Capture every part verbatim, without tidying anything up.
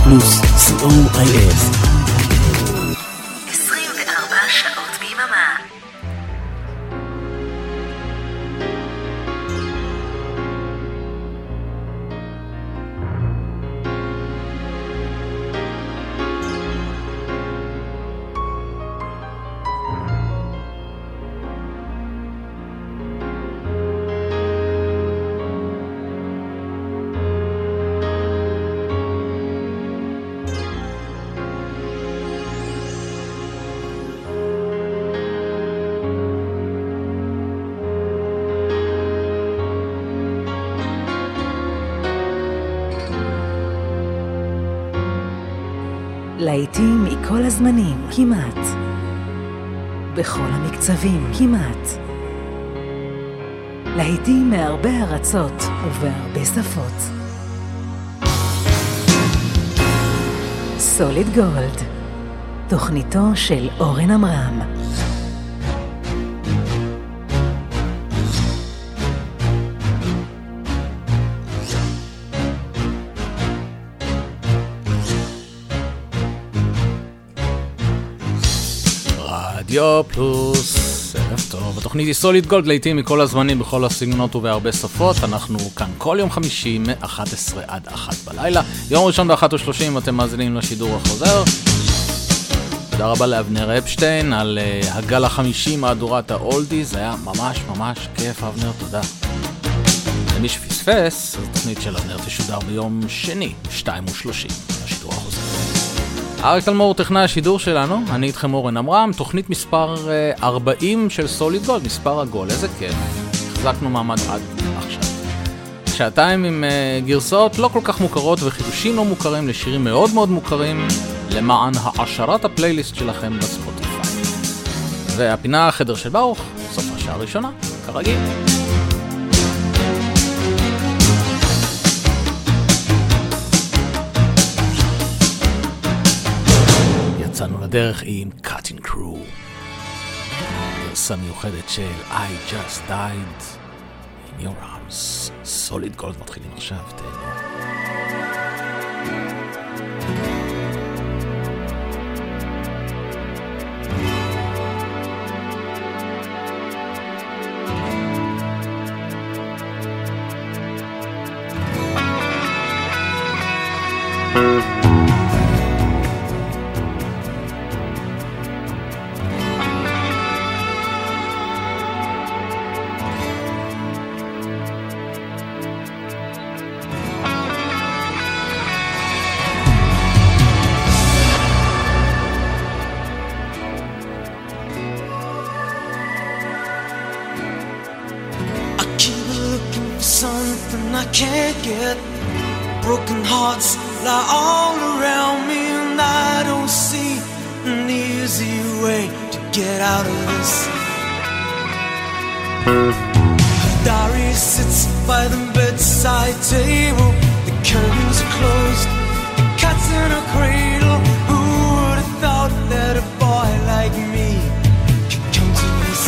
פלוס סי או איי אס. עשרים וארבע שעות ביממה. להיטים מכל הזמנים, כמעט. בכל המקצבים, כמעט. להיטים מהרבה ארצות ובהרבה שפות. סוליד גולד, תוכניתו של אורן אמרם. רדיו פלוס, ערב טוב. התוכנית היא סוליד גולד, להיטים מכל הזמנים, בכל הסגנונות ובהרבה שפות. אנחנו כאן כל יום חמישי מ-אחת עשרה עד אחת בלילה. יום ראשון ב-אחת ושלושים אתם מאזינים לשידור החוזר. תודה רבה לאבנר אפשטיין על uh, הגל החמישי מהדורת האולדי. זה היה ממש ממש כיף, אבנר, תודה. למי שפספס, התוכנית של אבנר תשודר ביום שני, שתיים ושלושים, לשידור החוזר. אריק תלמור טכנאי השידור שלנו, אני איתכם אורן אמרם, תוכנית מספר ארבעים של סוליד גולד, מספר עגול, איזה כיף, החזקנו מעמד עד עכשיו. שעתיים עם uh, גרסאות לא כל כך מוכרות וחידושים לא מוכרים לשירים מאוד מאוד מוכרים, למען העשרת הפלייליסט שלכם בספוטיפיי. והפינה החדר של ברוך, סוף השעה הראשונה, כרגיל. יצאנו לדרך עם Cutting Crew, גרסה מיוחדת של I Just Died in Your Arms. סוליד גולד מתחילים עכשיו, תהנו. Can't get broken hearts lie all around me, and I don't see an easy way to get out of this. Her diary sits by the bedside table, the curtains are closed, the cat's in a cradle. Who would have thought that a boy like me could come to this?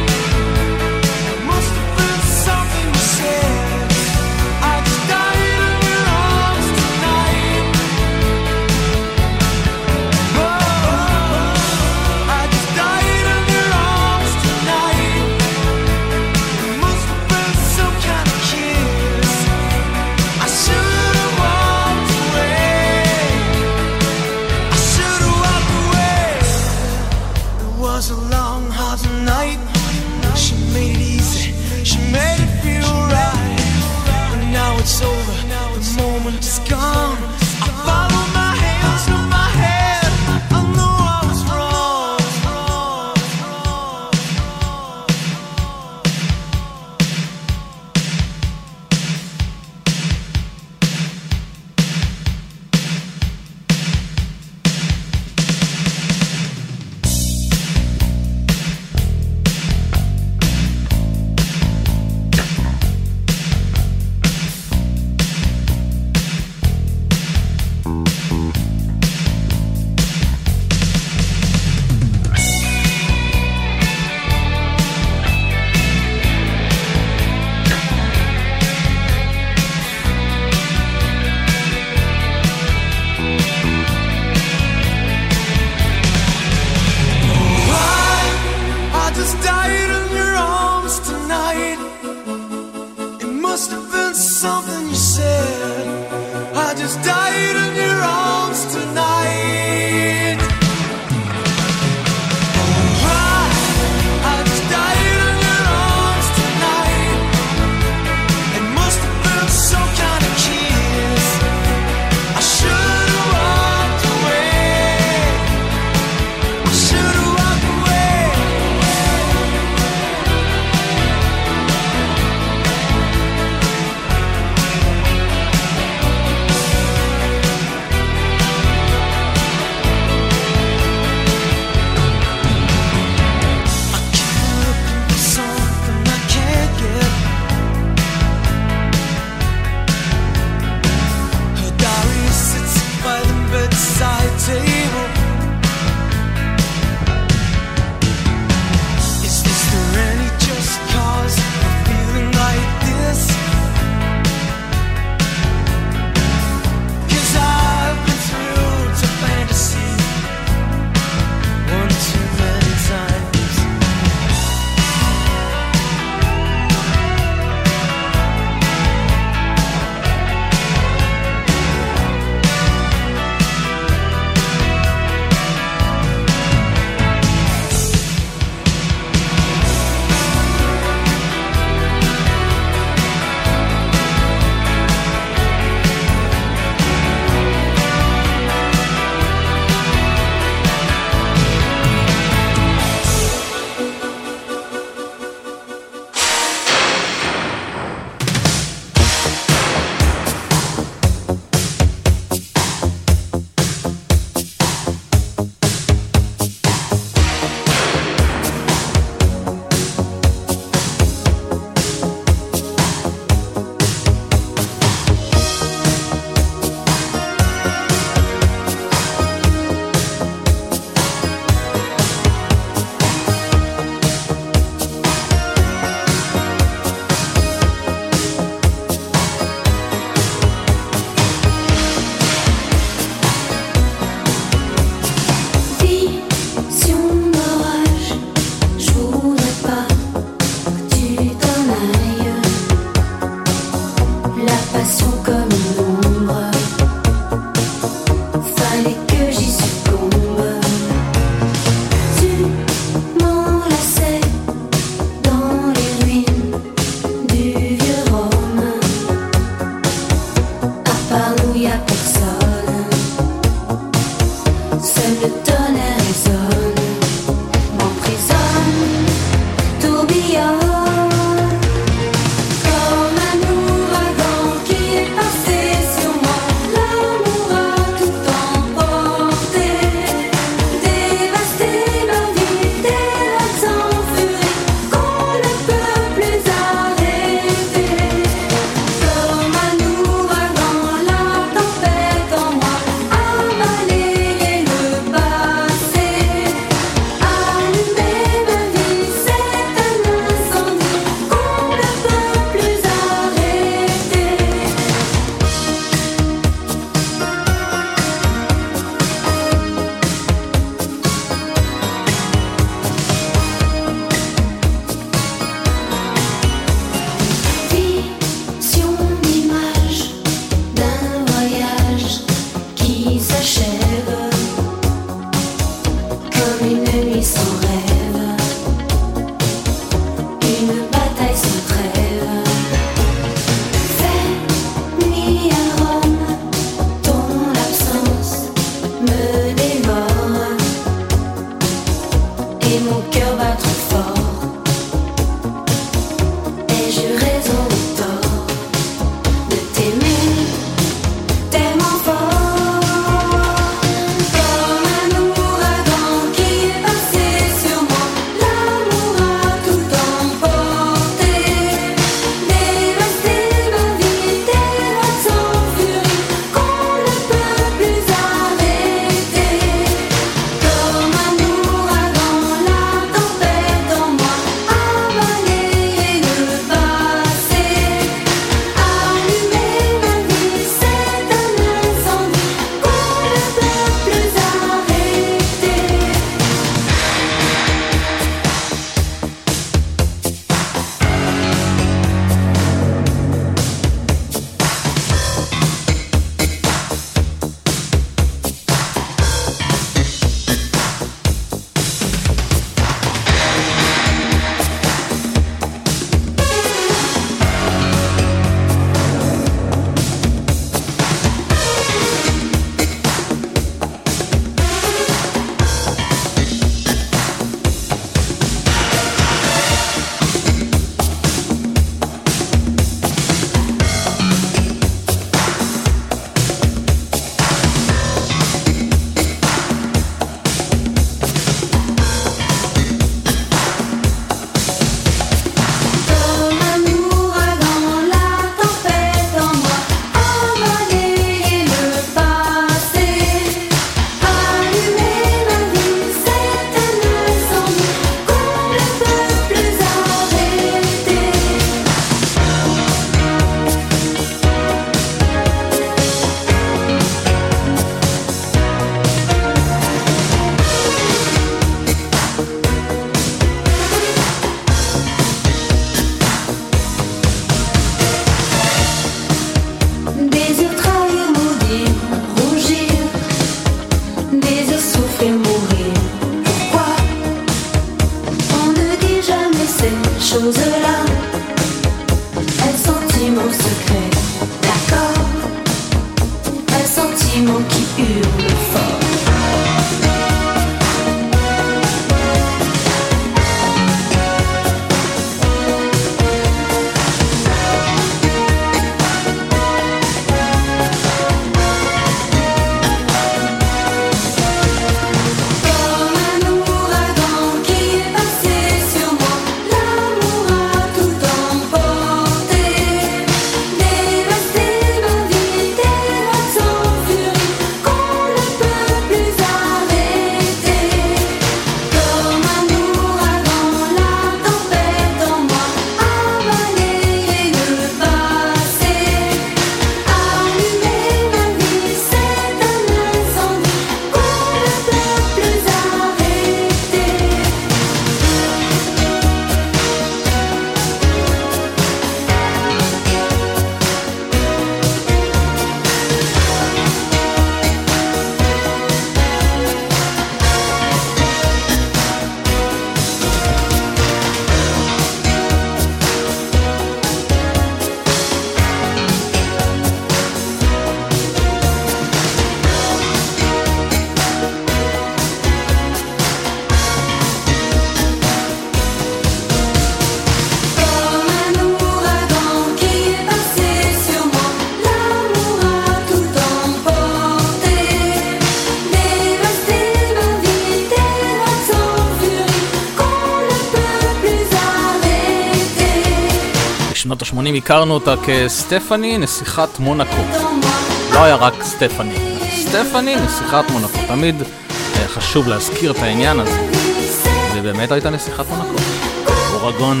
בשנות ה-שמונים הכרנו אותה כסטפני, נסיכת מונקו. לא היה רק סטפני, סטפני, נסיכת מונקו. תמיד חשוב להזכיר את העניין הזה. ובאמת הייתה נסיכת מונקו. אורגון.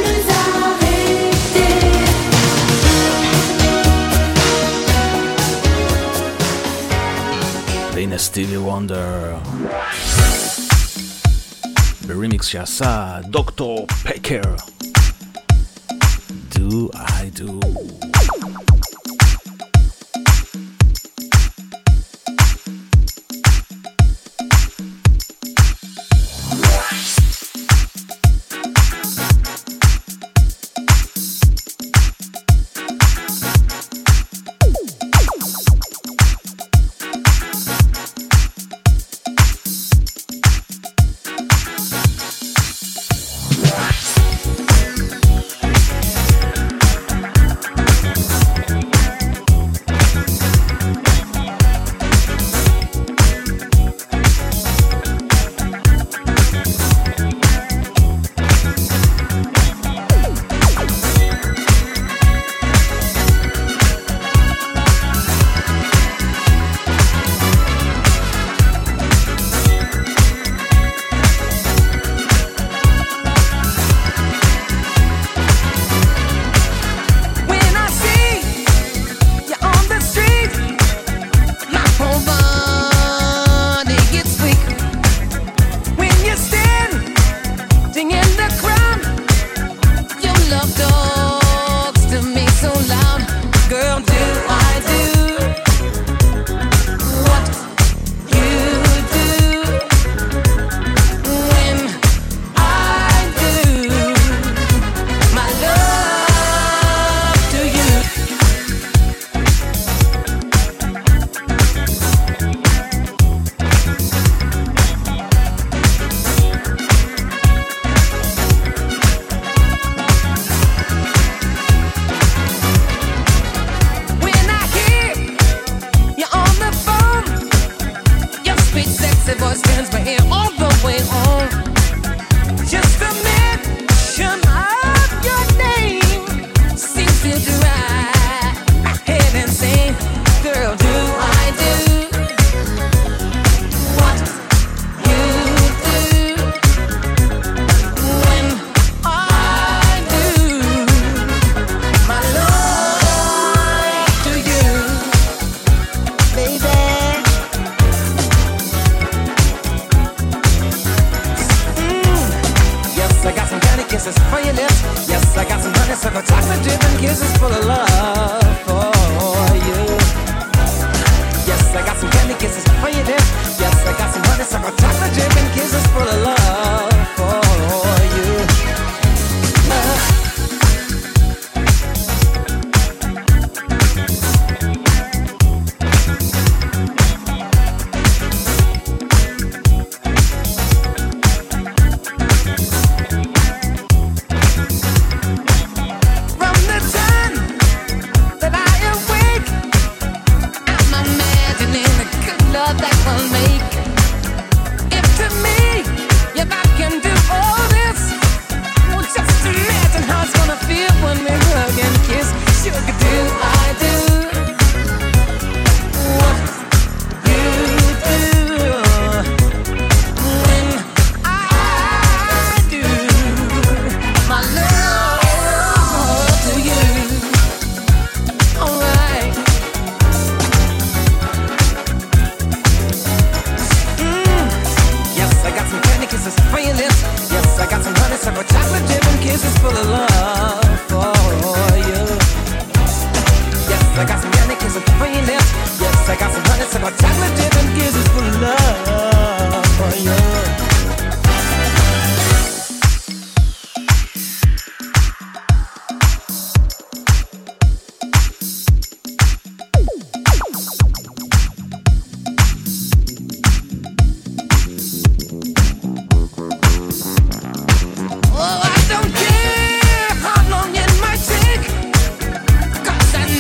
והנה סטיבי וונדר. ברימיקס שעשה דוקטור פקר. Do I do?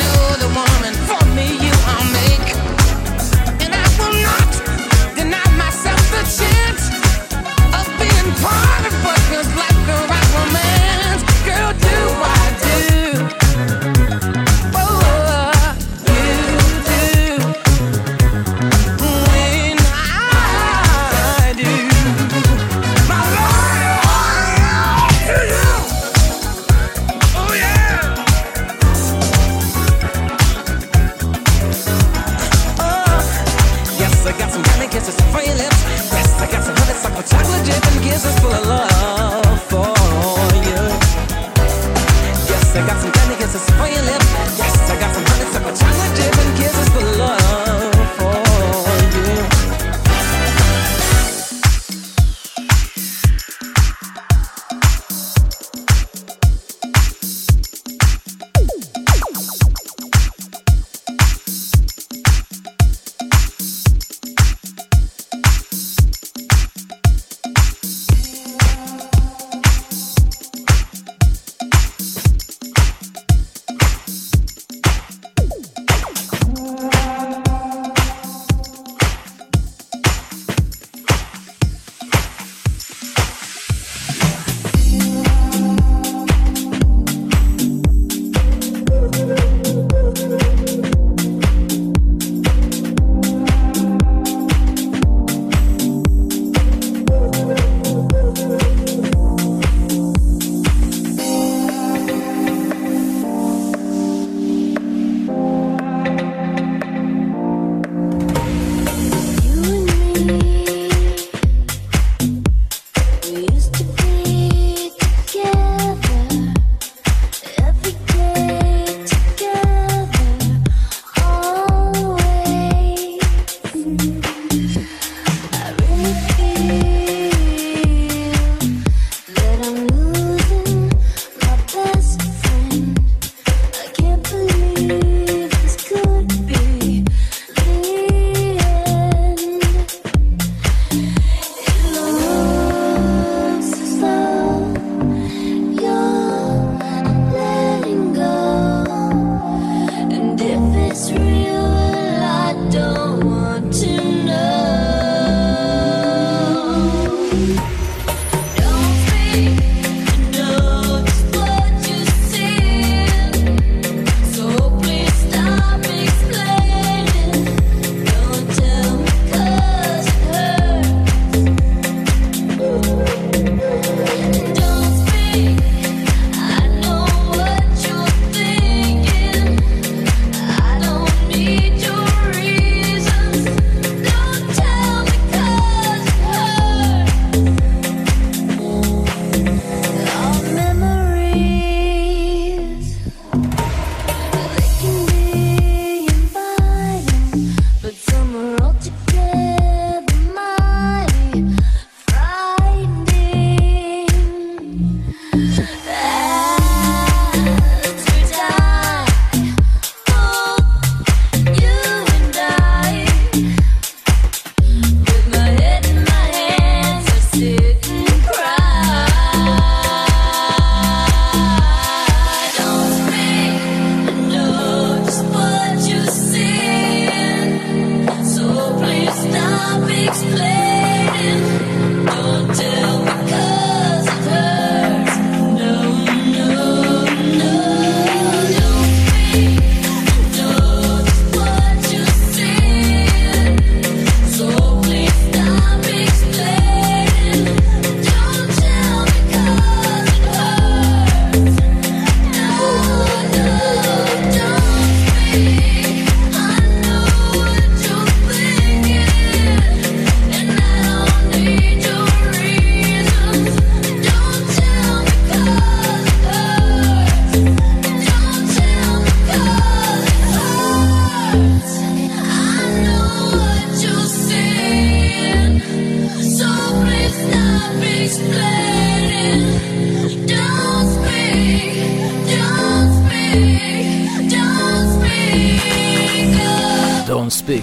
For me, you I'll make, and I will not deny myself.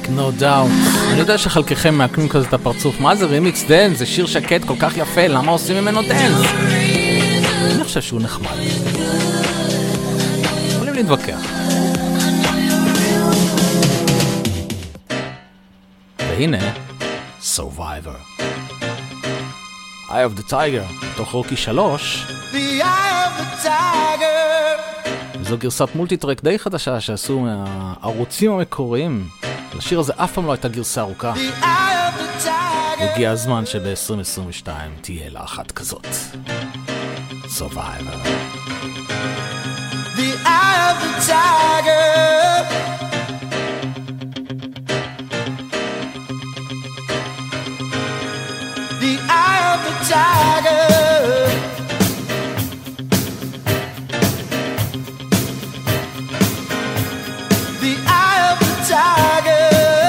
Make No Doubt. אני יודע שחלקכם מעקנים כזה את הפרצוף. מה זה רימיקס דנס? זה שיר שקט כל כך יפה, למה עושים ממנו דנס? אני חושב שהוא נחמד. יכולים להתווכח. והנה, Survivor. Eye of the Tiger, תוך רוקי שלוש. The eye of the tiger. וזו גרסת מולטיטרק די חדשה שעשו מהערוצים המקוריים. לשיר הזה אף פעם לא הייתה גרסה ארוכה. הגיע הזמן שב-עשרים עשרים ושתיים תהיה לה אחת כזאת. Survivor. The eye of the tiger. The eye of the tiger. The eye of the tiger.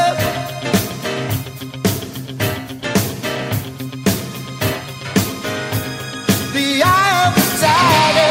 The eye of the tiger.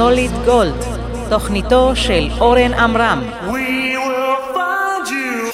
סוליד גולד, תוכניתו של אורן עמרם. We will find you.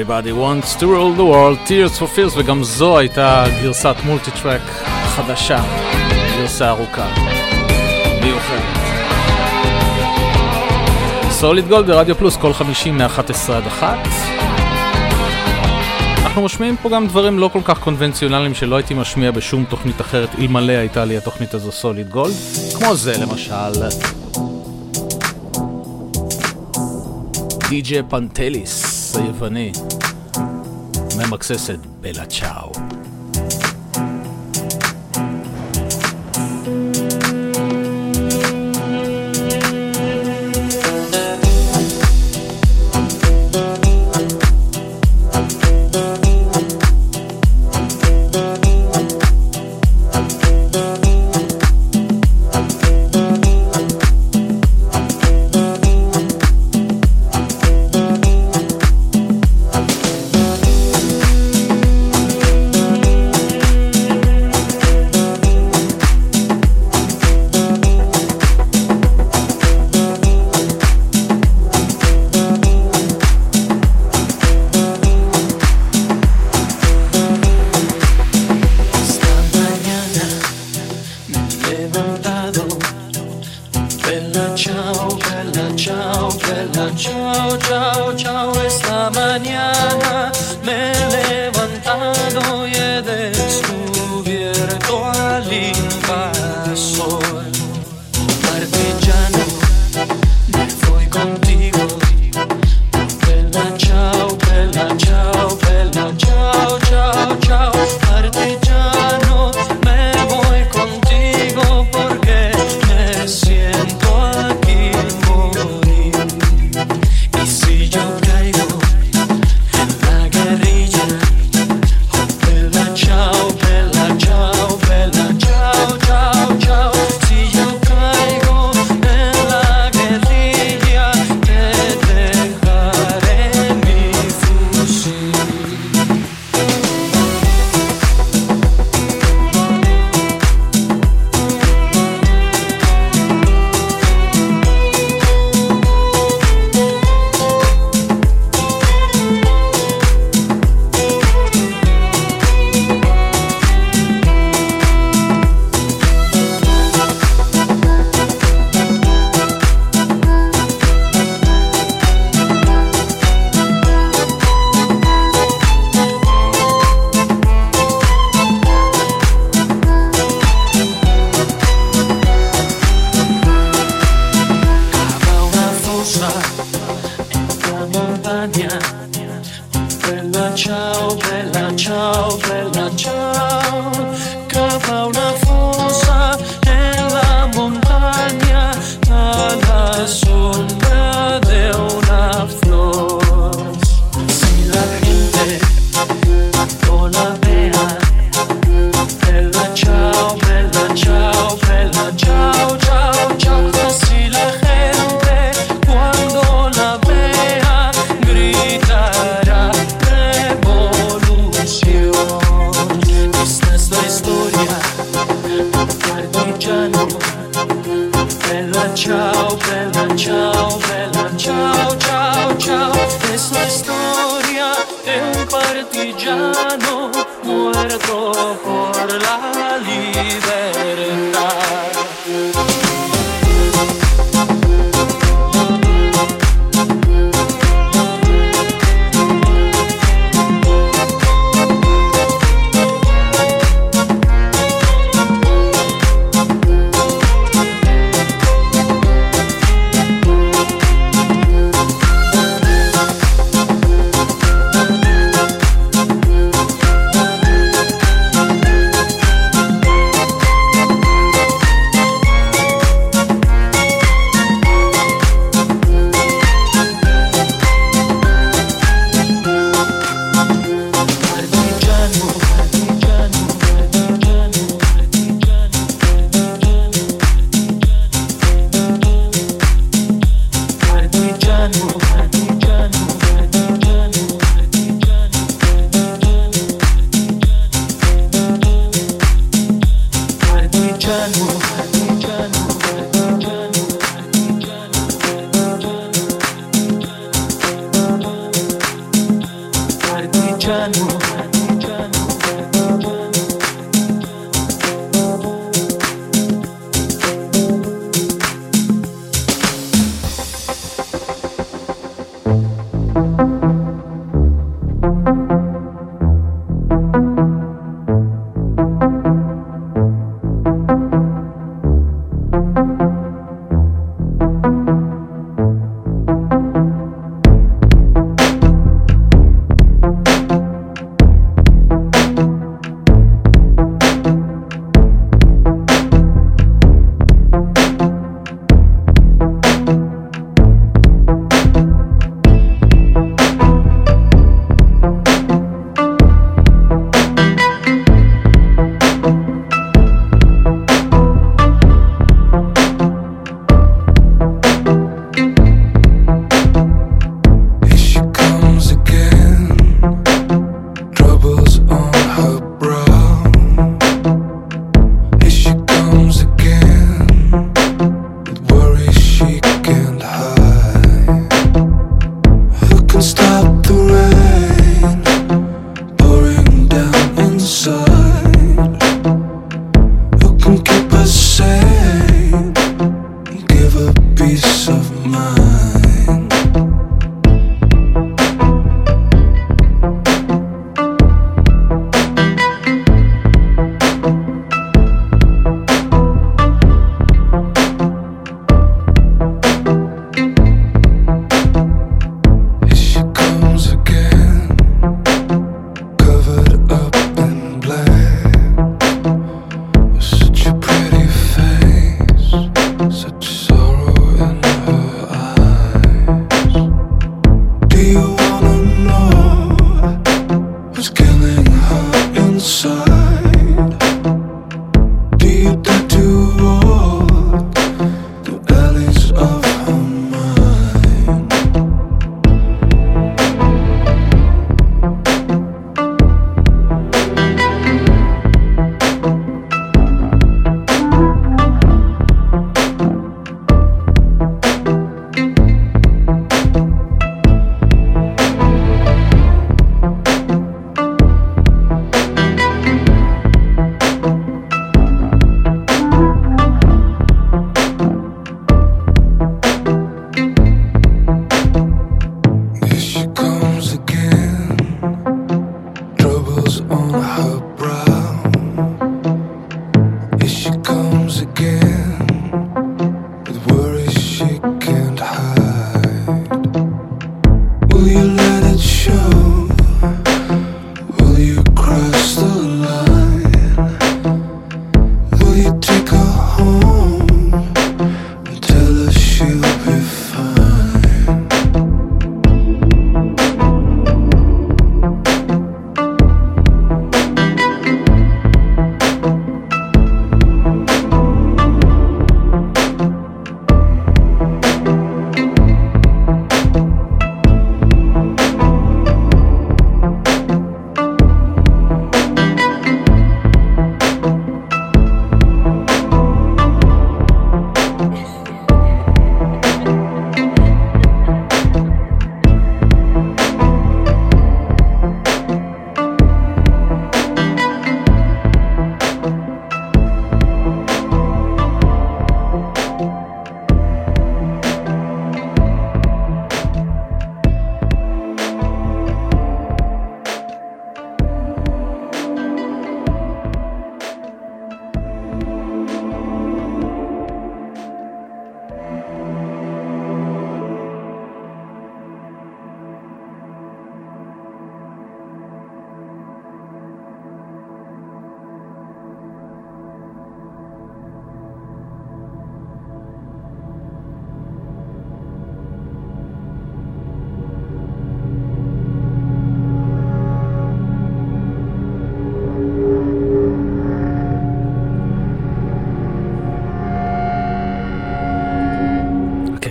Everybody wants to rule the world, Tears for Fears, וגם זו הייתה גרסת מולטי-טרק חדשה, גרסה ארוכה, מיוחדת. סוליד גולד ברדיו פלוס כל חמישי מ-אחת עשרה עד אחת. אנחנו משמיעים פה גם דברים לא כל כך קונבנציונליים שלא הייתי משמיע בשום תוכנית אחרת אלמלא הייתה לי התוכנית הזו סוליד גולד, כמו זה למשל די-ג'יי פנטליס היווני ממקססת בלה צ'או.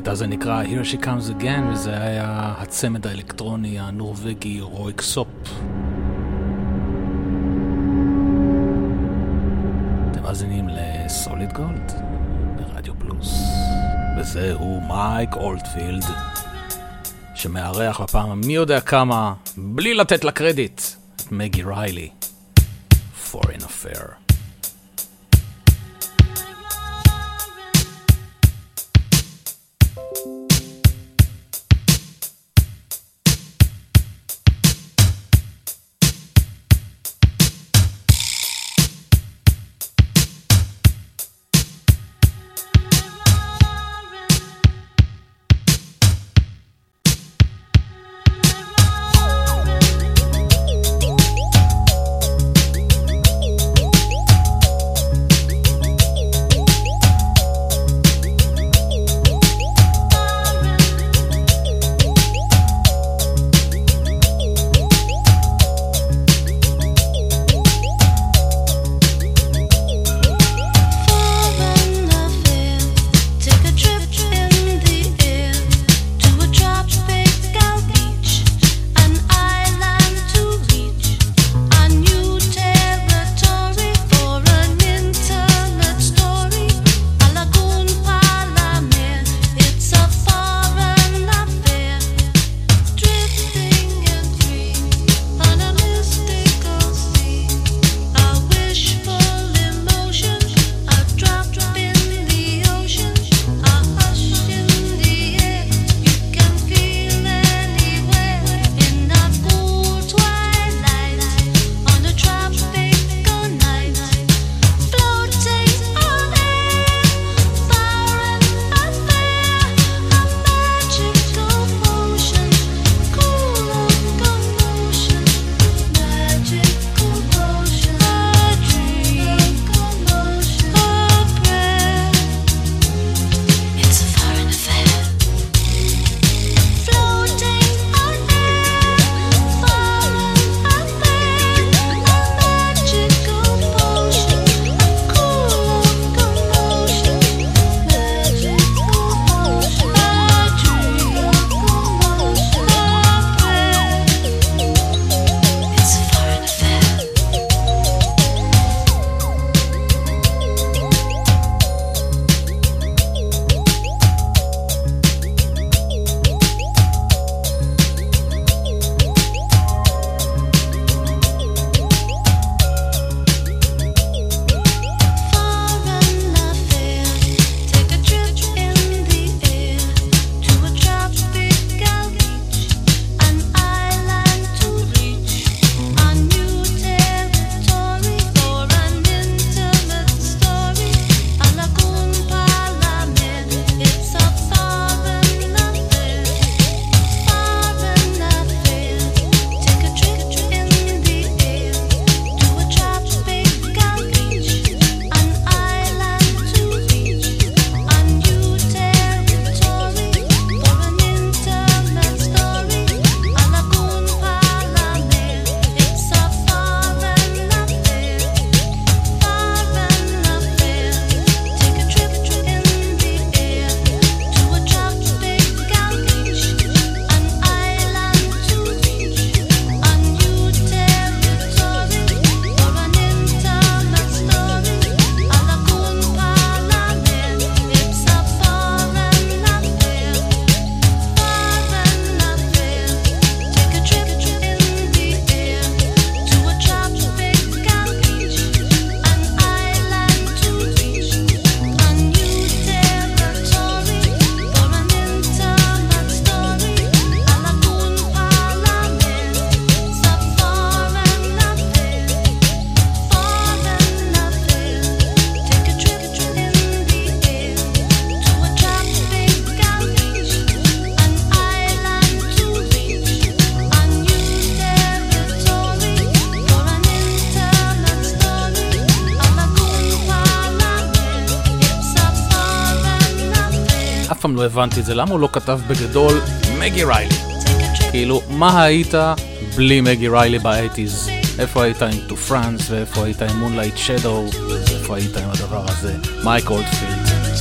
הקטע הזה נקרא Here She Comes Again, וזה היה הצמד האלקטרוני הנורווגי רויקסופ. אתם מאזינים לסוליד גולד ברדיו פלוס, וזהו מייק אולדפילד שמארח בפעם המי יודע כמה, בלי לתת לה קרדיט, את מגי ריילי, Foreign Affair. פעם לא הבנתי את זה, למה הוא לא כתב בגדול מגי ריילי? כאילו, מה היית בלי מגי ריילי ב-שמונים? איפה היית עם To France, ואיפה היית עם Moonlight Shadow, איפה היית עם הדבר הזה? מייק אולדפילד.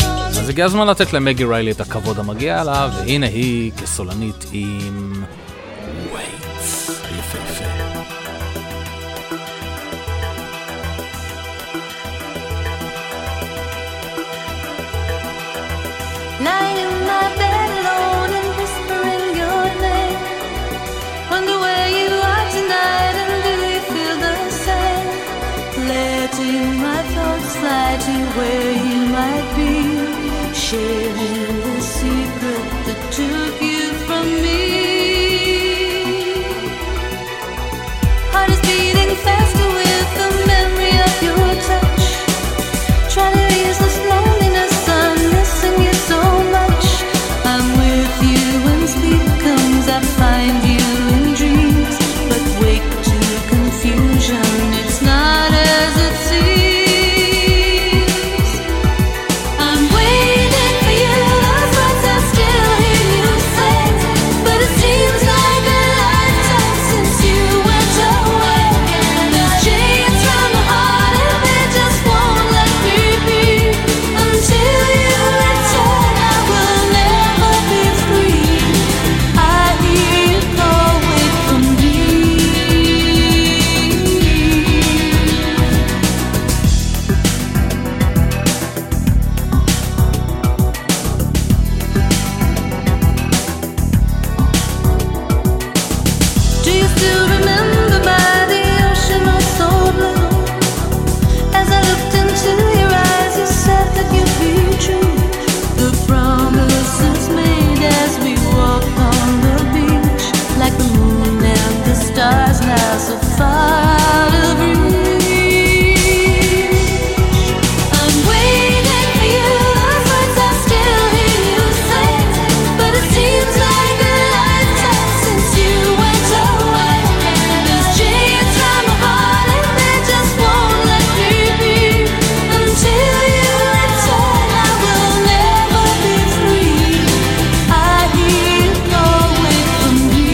אז הגיע הזמן לתת למגי ריילי את הכבוד המגיע לה, והנה היא כסולנית עם ווייטס היפהפה. Lying in my bed alone and whispering your name. Wonder where you are tonight and do you feel the same? Letting my thoughts fly to where you might be, sharing the secret that took you from me. Heart is beating faster with the memory of your touch. Try to ease this loneliness, I'm missing you so much. I'm with you when sleep comes, I find you in dreams, but wake to confusion, it's not as it seems. I'm waiting for you, those words I still hear you say, but it seems like a lifetime since you went away. There's chains from my heart and they just won't let me be. Until you return, I will never be free. I hear you call, wait for me. Do you still remember by the ocean or so blue? As I looked into your eyes, you said that you'd be true. The promises made as we walked on the beach, like the moon and the stars now so far out of reach. I'm waiting for you, those words I still hear you say, but it seems like a lifetime since you went away. There's chains from my heart and they just won't let me be. Until you return, I will never be free. I hear you call, wait for me.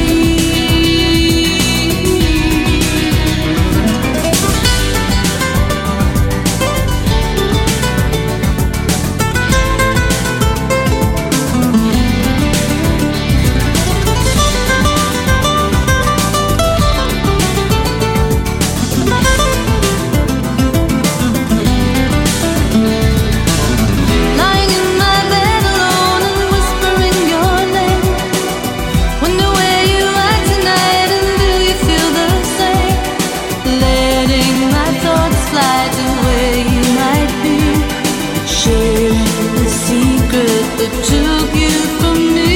Lying in my bed alone and whispering your name. Wonder where you are tonight and do you feel the same? Letting my thoughts fly to where you might be, sharing the secret that took you from me.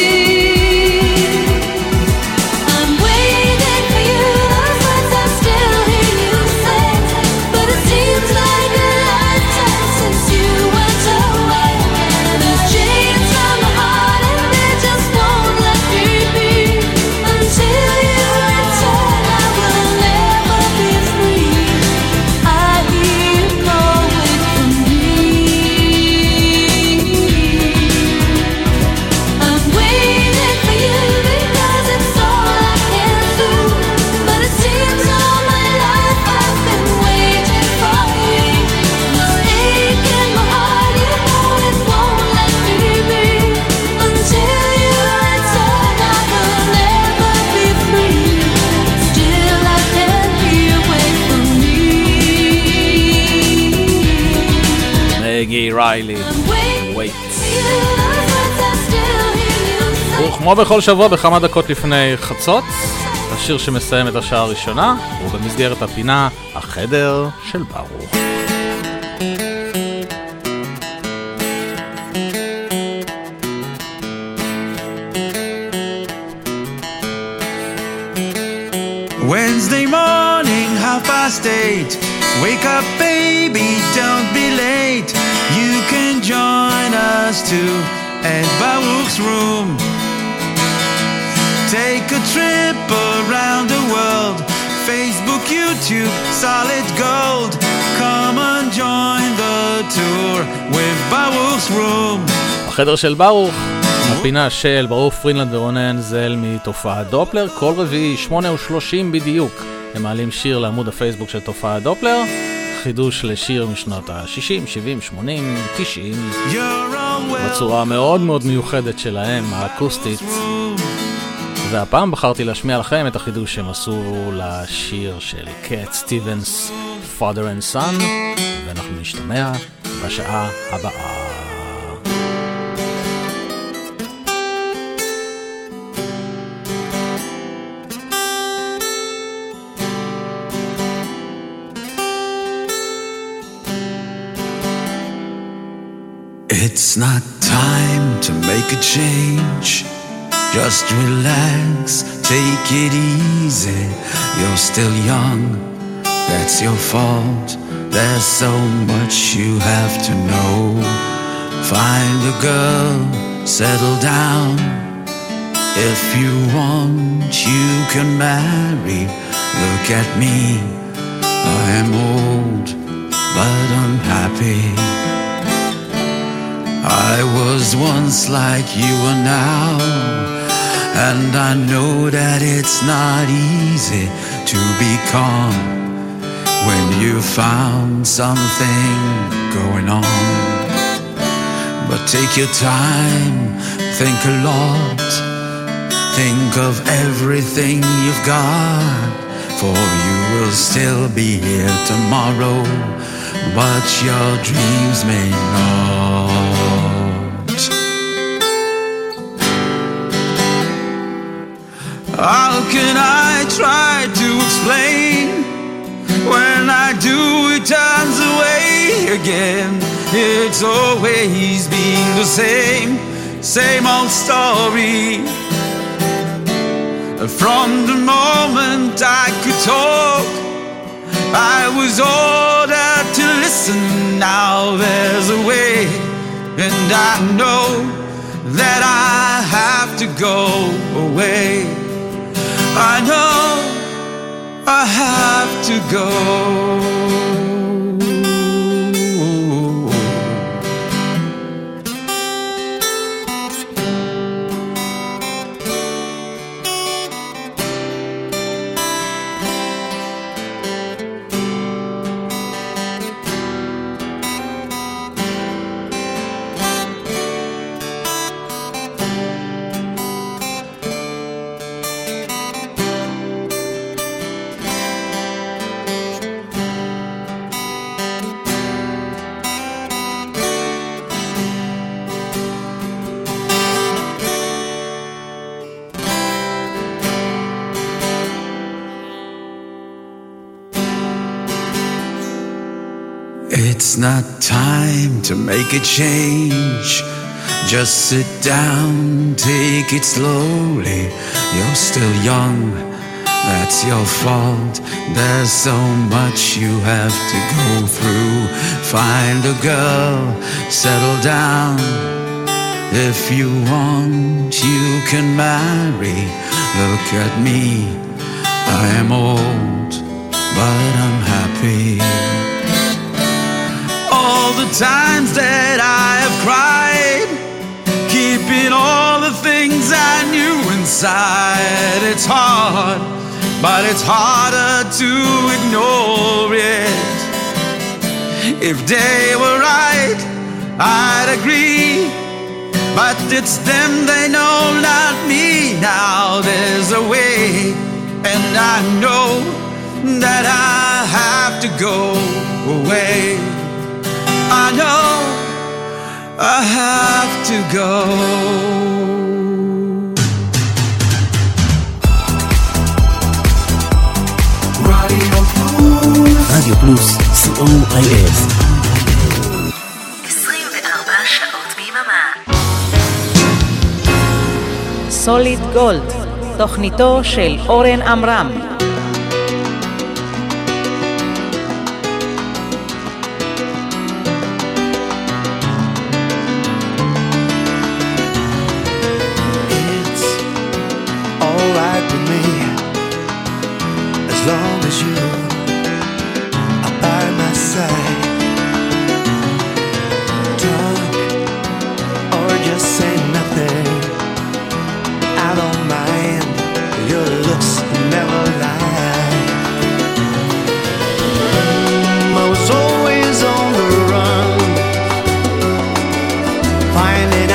I'm waiting for you, those words I still hear you say, but it seems like a lifetime since you went away. There's chains from my heart and they just won't let me be. Until you return, I will never be free. I hear you call, wait for me. I'm waiting for you because it's all I can do, but it seems all my life I've been waiting for you. This ache in my heart, you know it won't let me be. Until you return, I will never be free. Still I can hear, wait for me. מגי ריילי, I'm waiting ווייטס. for you, those words I still hear you say. וכמו בכל שבוע בכמה דקות לפני חצות, השיר שמסיים את השעה הראשונה הוא במסגרת הפינה החדר של ברוך. Wednesday morning, half past eight. Wake up, baby, don't be late. You can join us too at Baruch's room. Take a trip around the world. Facebook, YouTube, solid gold. Come and join the tour with Baruch's room. החדר של ברוך, הפינה של ברוך פרינלנד ורונן זל מתופעת דופלר. כל רביעי שמונה ושלושים בדיוק הם מעלים שיר לעמוד הפייסבוק של תופעת דופלר, חידוש לשיר משנות ה-שישים, שבעים, שמונים, תשעים. You're בצורה מאוד מאוד מיוחדת שלהם, האקוסטית. והפעם בחרתי להשמיע לכם את החידוש שהם עשו לשיר של קט סטיבנס, Father and Son, ואנחנו נשתמע בשעה הבאה. It's not time to make a change. Just relax, take it easy. You're still young, that's your fault. There's so much you have to know. Find a girl, settle down. If you want, you can marry. Look at me, I am old, but unhappy. I was once like you are now, and I know that it's not easy to be calm when you found something going on. But take your time, think a lot, think of everything you've got, for you will still be here tomorrow, but your dreams may not. How can I try to explain? When I do, it turns away again. It's always been the same, same old story. From the moment I could talk, I was ordered to listen. Now there's a way, and I know that I have to go away. I know I have to go. It's not time to make a change. Just sit down, take it slowly. You're still young, that's your fault. There's so much you have to go through. Find a girl, settle down. If you want, you can marry. Look at me, I am old, but I'm happy. All the times that I have cried, keeping all the things I knew inside. It's hard, but it's harder to ignore it. If they were right, I'd agree, but it's them they know, not me. Now there's a way, and I know that I have to go away. I know I have to go. רדיו פלוס, סי או איי אס. עשרים וארבע שעות ביממה. סוליד גולד, תוכניתו של אורן עמרם. As long as you are by my side, talk or just say nothing, I don't mind. Your looks never lie. I was always on the run, finding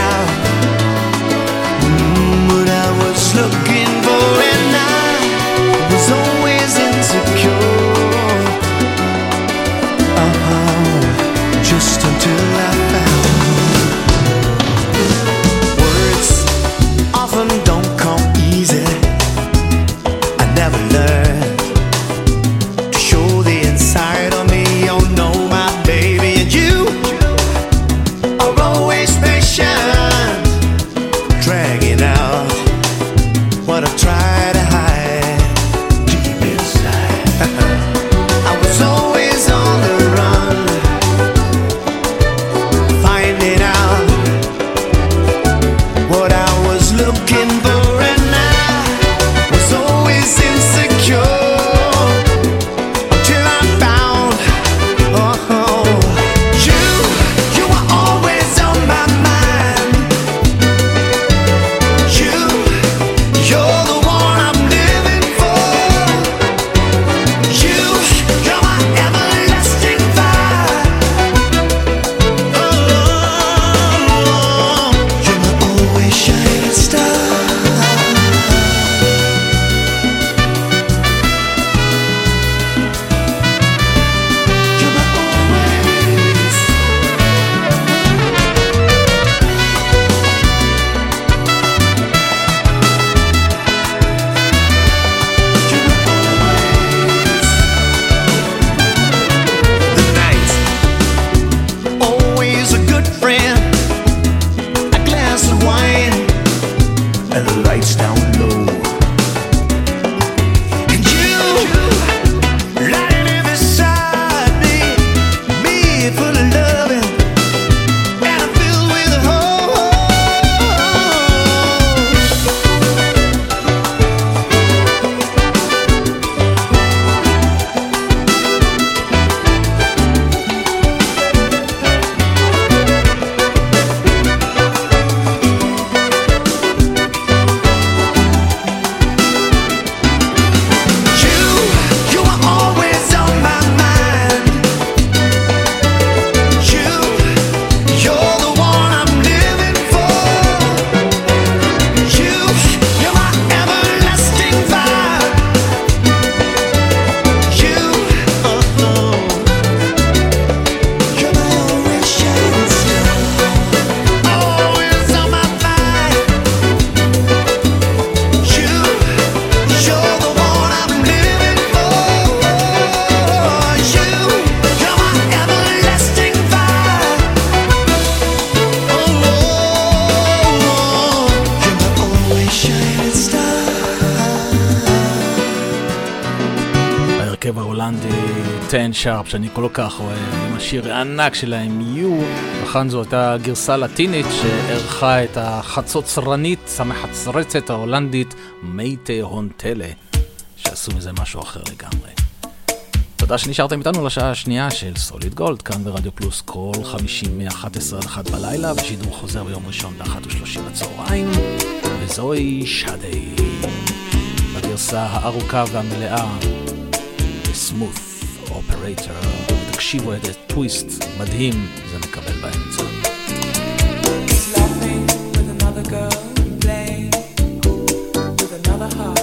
ההולנדי טן שרפ שאני כל כך אוהב, עם השיר הענק שלהם יו, וכאן זו הייתה גרסה לטינית שערכה את החצוצרנית המחצרצת ההולנדית מייטה הונטלה, שעשו מזה משהו אחר לגמרי. תודה שנשארתם איתנו לשעה השנייה של סוליד גולד, כאן ברדיו פלוס כל חמישים מ-אחת עשרה עד אחת בלילה, ושידור חוזר ביום ראשון ב-אחת ושלושים בצהריים, וזוהי שדי בגרסה הארוכה והמלאה סמות אופרטור. תקשיבו איזה טוויסט מדהים זה מקבל באמצע. He's laughing with another girl, playing with another heart,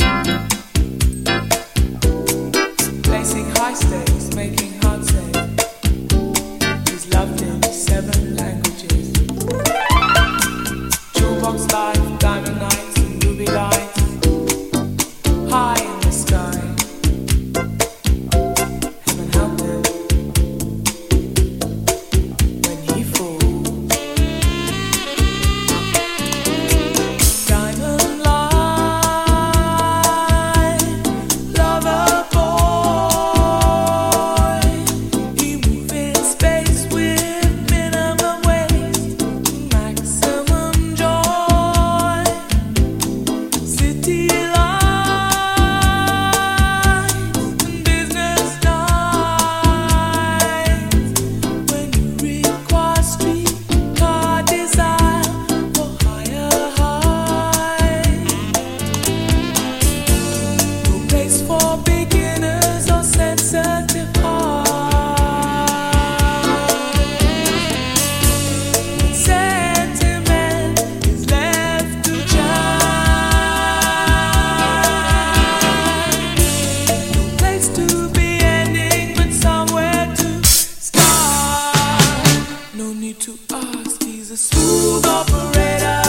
placing high stakes, making hard safe. He's loved in seven languages. Jukebox life, diamond nights and ruby lights, high in the sky. Heaven help him when he falls. Diamond light, lover boy. He moves in space with minimum waste, maximum joy. City lights and business nights. When you require streetcar desire for higher heights. No place for beginners or sensitive hearts. Sentiment is left to chime. No place to be ending, but somewhere to start. No need to ask, he's a smooth operator.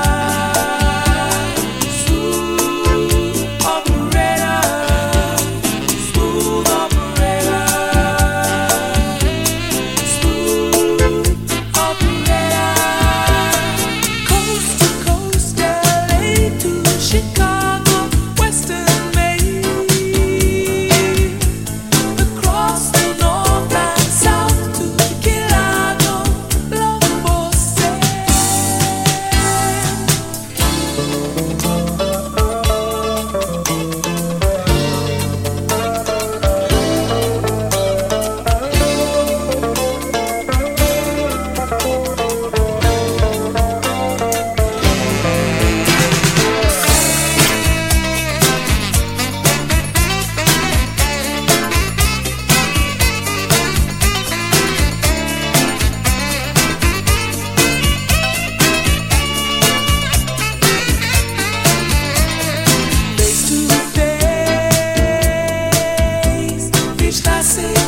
Smooth operator. Smooth operator. Smooth operator. Coast to coast, L A to Chicago, Western Maine. Across the north and south to Chicago, love for sale. Face to face, reach classic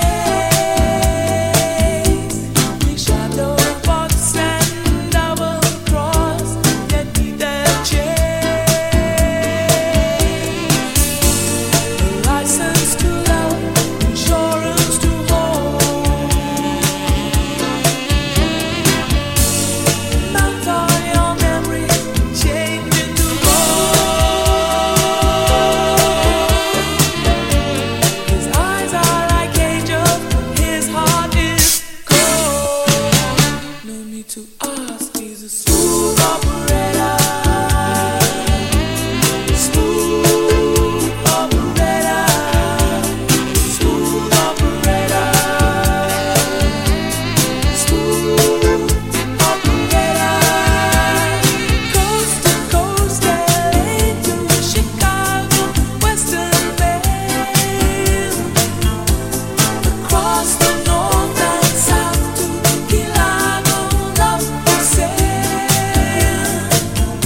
case. We shadow box and double cross, yet neither change. License to love, insurance to hold. Mount on your memory, change into gold. His eyes are like angels, his heart is cold. No need to ask, he's a smooth operator. Smooth operator. Smooth operator. Smooth operator. Coast to coast, L A to Chicago, Western Maine. Across the north and south to Chicago, love for sale.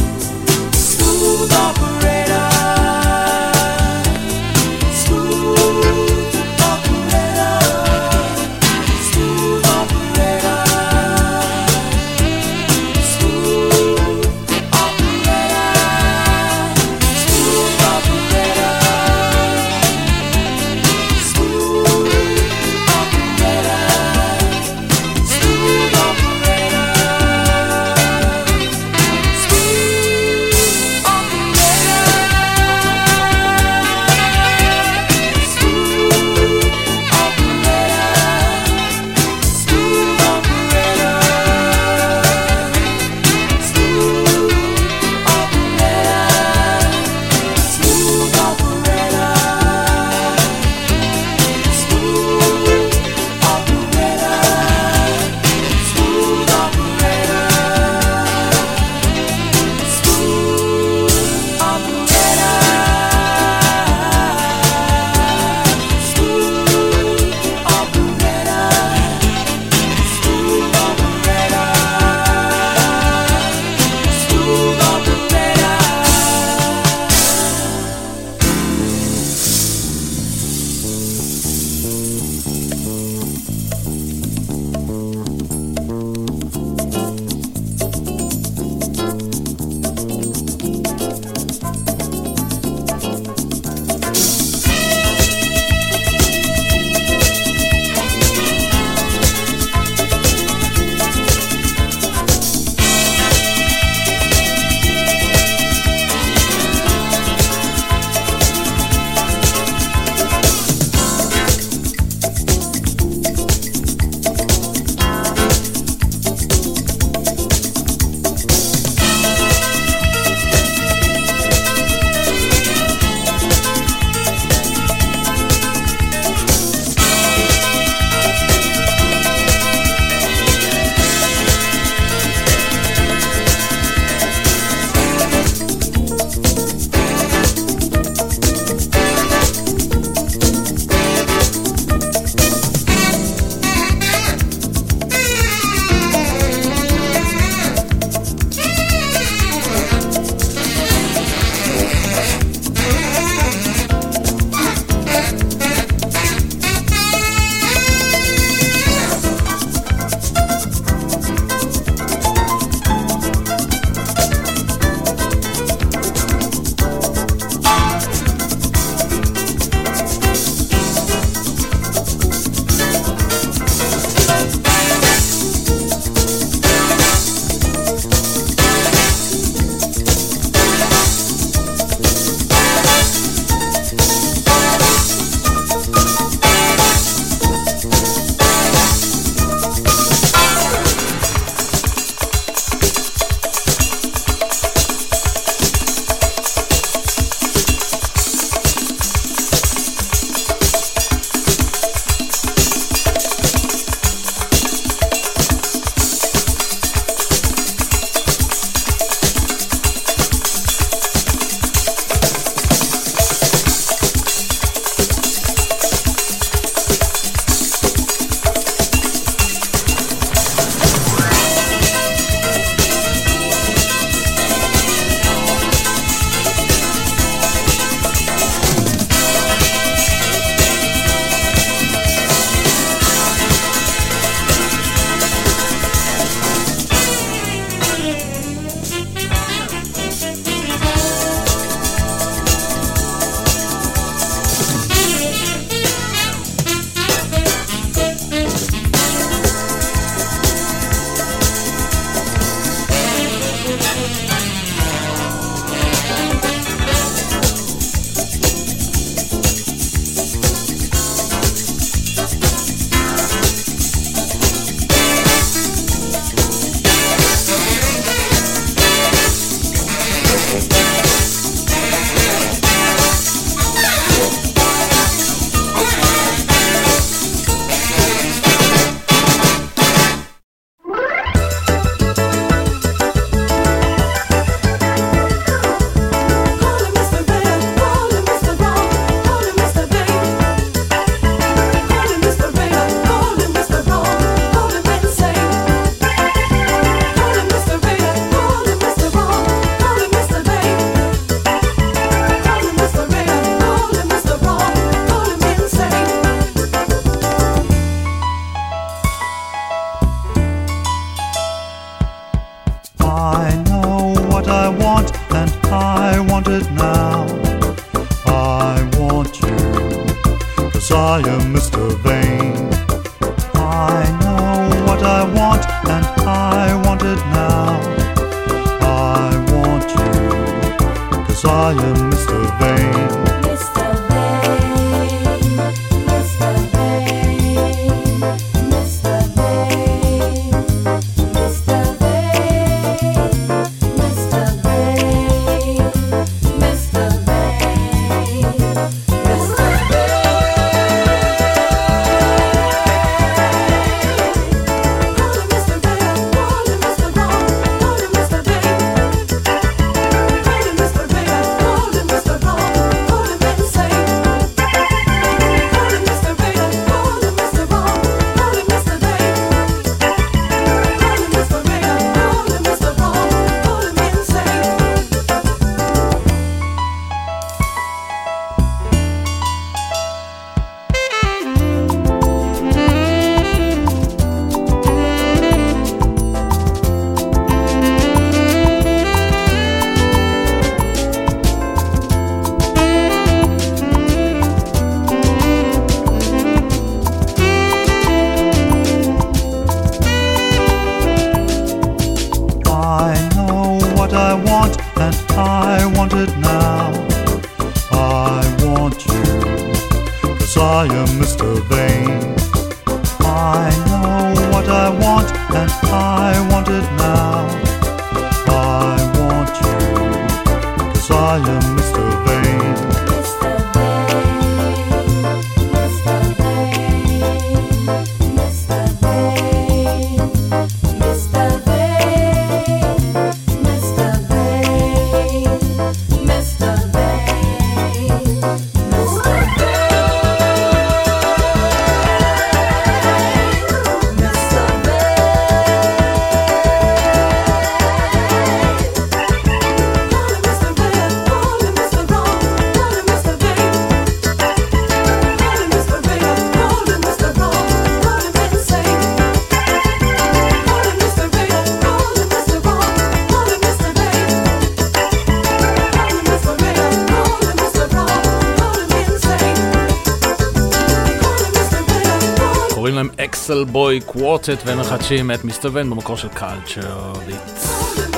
אקסל בוי קוורטט ומחדשים את מיסטר ון במקור של קלצ'ר ביטס.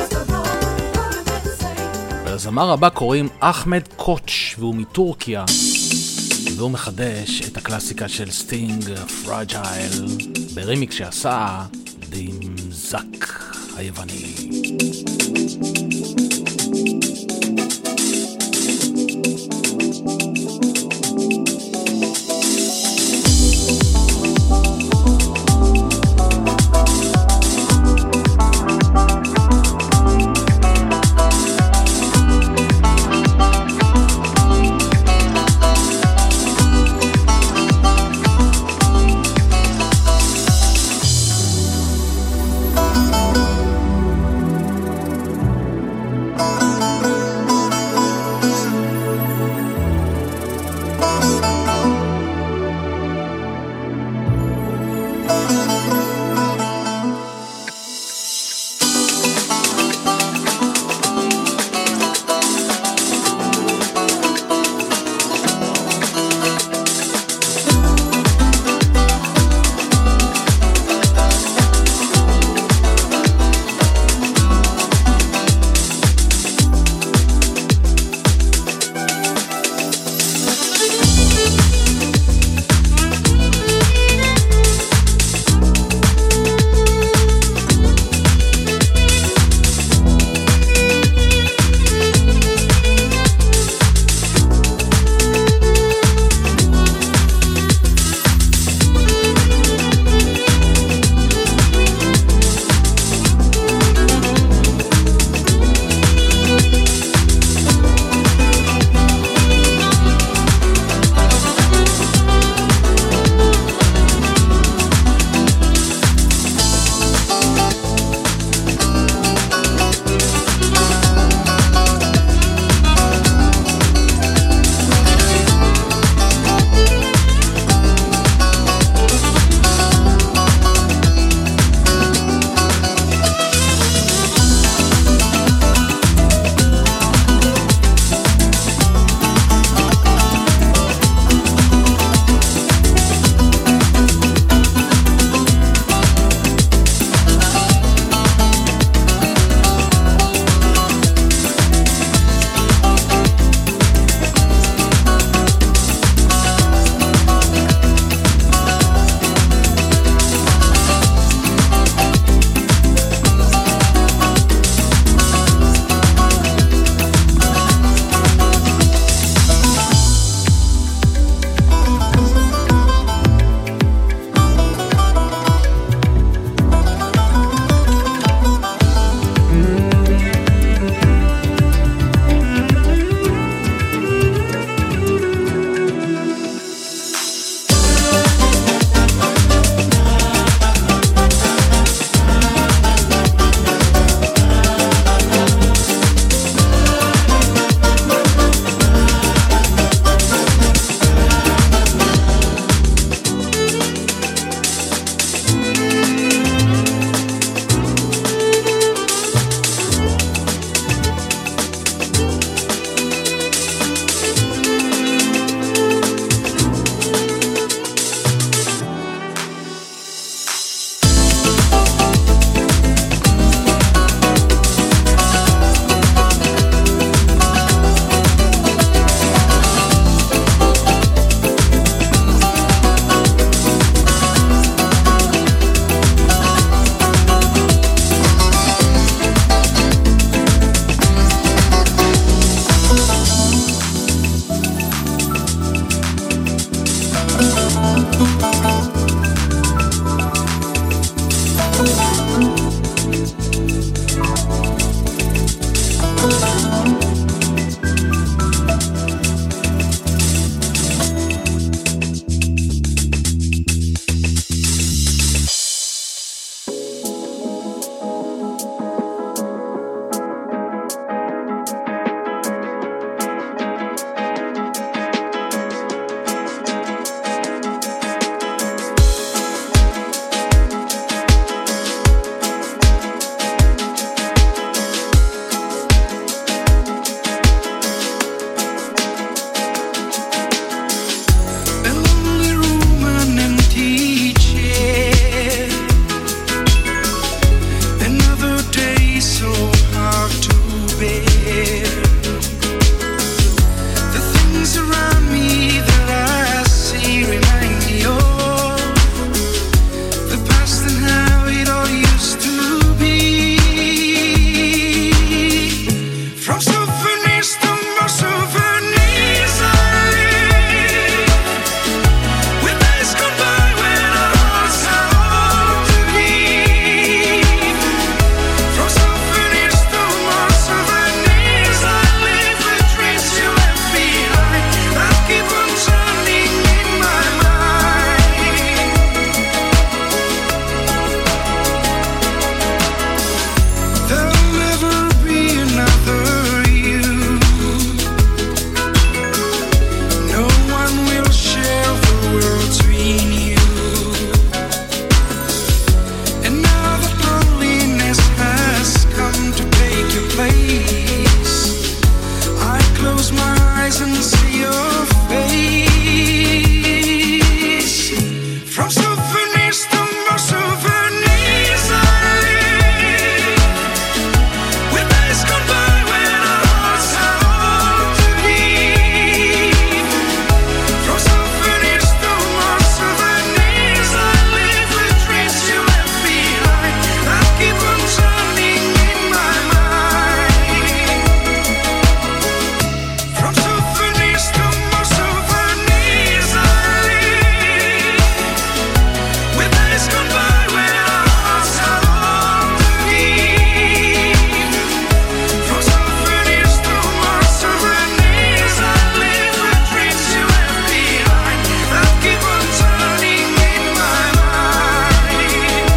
ולזמר הבא קוראים אחמד קוץ' והוא מטורקיה והוא מחדש את הקלאסיקה של סטינג פרג'ייל ברימיק שעשה דימזק היווני. face. I close my eyes and see your face. From souvenirs to more souvenirs, I live. With days gone by when our hearts had all to give. From souvenirs to more souvenirs, I live with dreams you left behind that keep on turning in my mind. From souvenirs to more souvenirs, I live. With days gone by when our hearts had all to give. From souvenirs to more souvenirs, I live with dreams you left behind that keep on turning in my mind.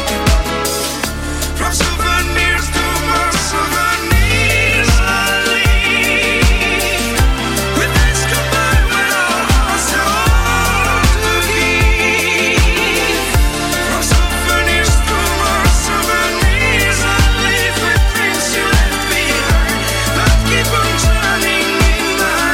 From souvenirs to more souvenirs, I live. With days gone by when our hearts had all to give. From souvenirs to more souvenirs, I live with dreams you left behind that keep on turning in my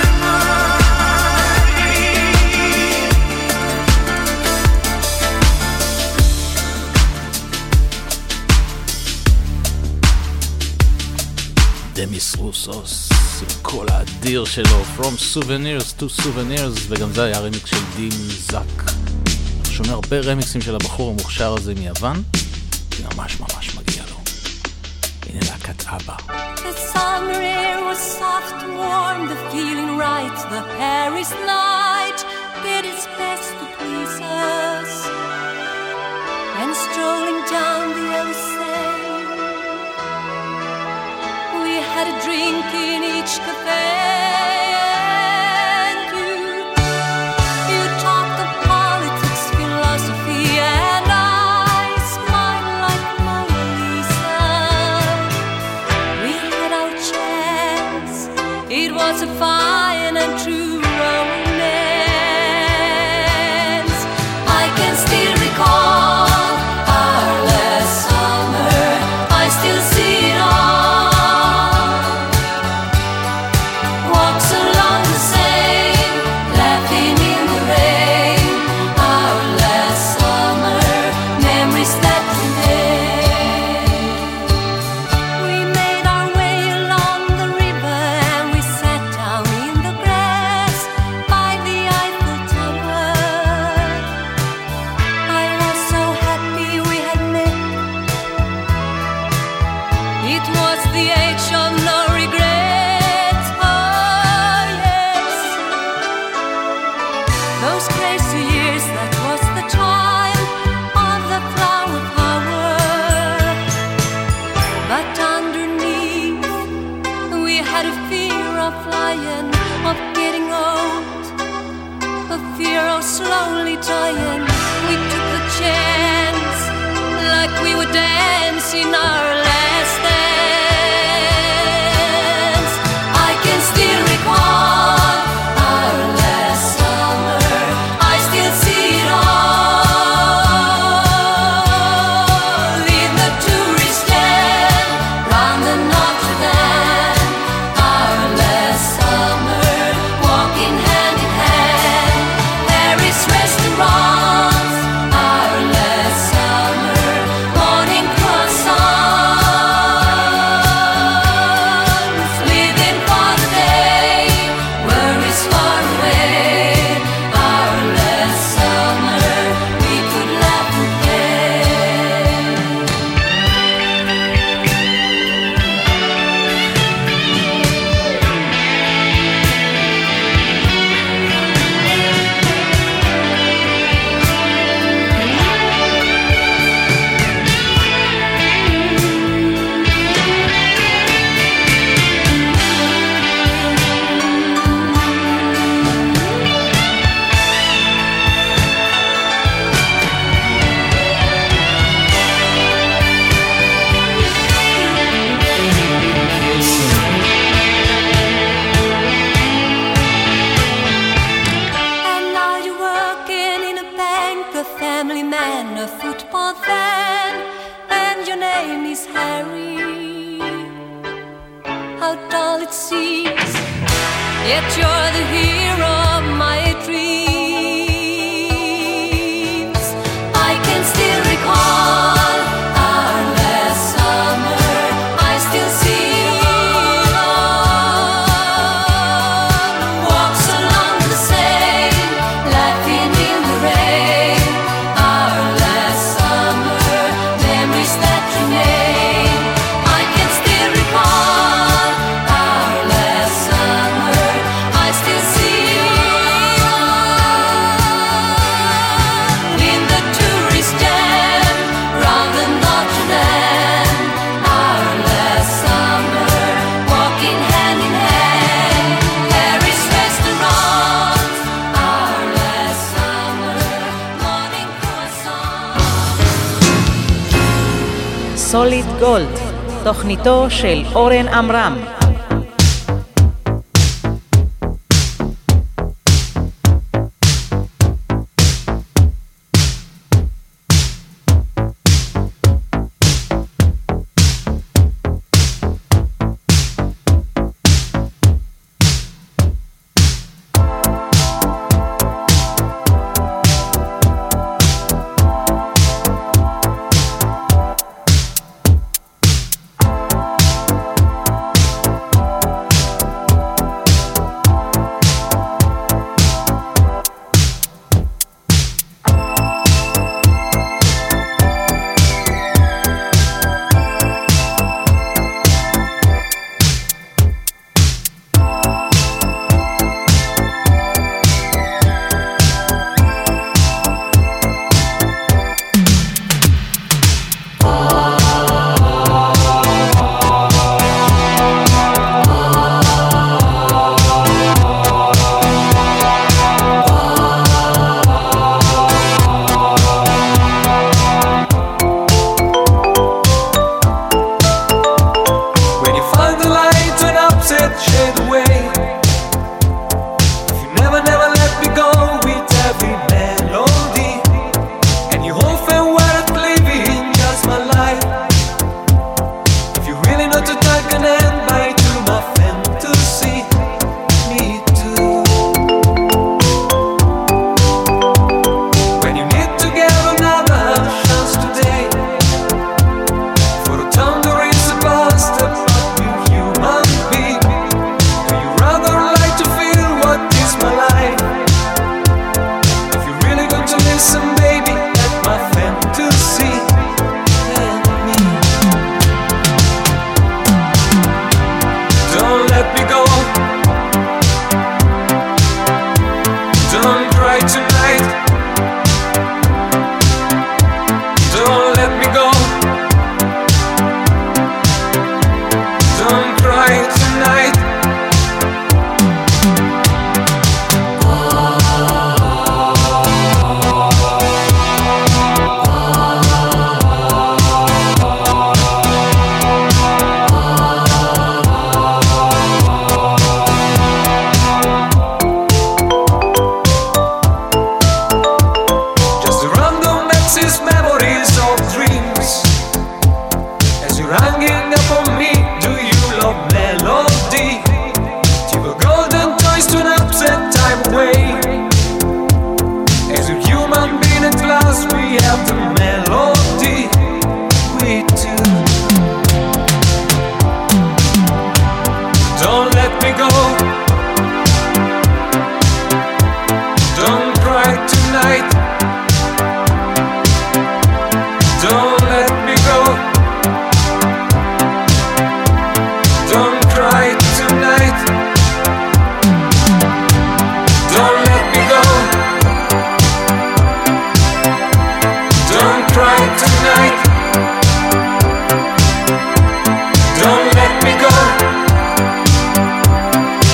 דמיס רוסוס, כל האדיר שלו, From Souvenirs to Souvenirs, וגם זה היה רמיקס של דין זק. שומע הרבה רמיקסים של הבחור המוכשר הזה מיוון, זה ממש ממש מגיע לו. הנה להקת אבא. The summer air was soft and warm, the feeling right, the Paris night did its best to please us. And strolling down the Seine, we had a drink in each cafe. And you, you talked of politics, philosophy, and I smiled like Mona Lisa. We had our chance. It was a fine and true romance. I can still recall our last summer. I still see it all. Walks along the Seine, laughing in the rain. Our last summer, memories that remain. We made our way along the river and we sat down in the grass by the Eiffel Tower. I was so happy we had met. It was the age of no regrets. Oh yes, those crazy years, that was the time of the flower power. But underneath, we had a fear of flying, of getting old, a fear of slowly dying. We took a chance, like we were dancing our last dance. I can still recall our last summer. I still see it all in the tourist stand round the Notre Dame. Our last summer, walking hand in hand, Paris restaurants. Our last summer, morning croissants. how dull it seems. Yet you're the hero of my dreams. I can still recall our last summer. I still see you on walks along the Seine, laughing in the rain. Our last summer, memories that remain. I can still recall our last summer. I still see you in the tourist jam round the Notre Dame. Our last summer, walking hand in hand, Paris restaurants. Our last summer, morning croissants. סוליד גולד, תוכניתו של אורן עמרם. When you find the light and upset shade away, if you never, never let me go with every melody, and you hope and weren't living just my life, if you really know to take an end by to my fantasy, me too. When you need to get another chance today, for the thunder is a past, but with human being, do you rather like to feel what is my life? If you're really going to listen, baby, let my fantasy and me. Don't let me go. Don't cry tonight. Don't let me go. Don't cry tonight. Just a random axis, memories of dreams. As you're hanging up on me, do you love melody? Give a golden toys to an upset time away. As a human being at last, we have the melody. We do. Don't let me go. Don't cry tonight. Don't let me go. Don't cry tonight. Don't let me go. Don't cry tonight. Don't let me go.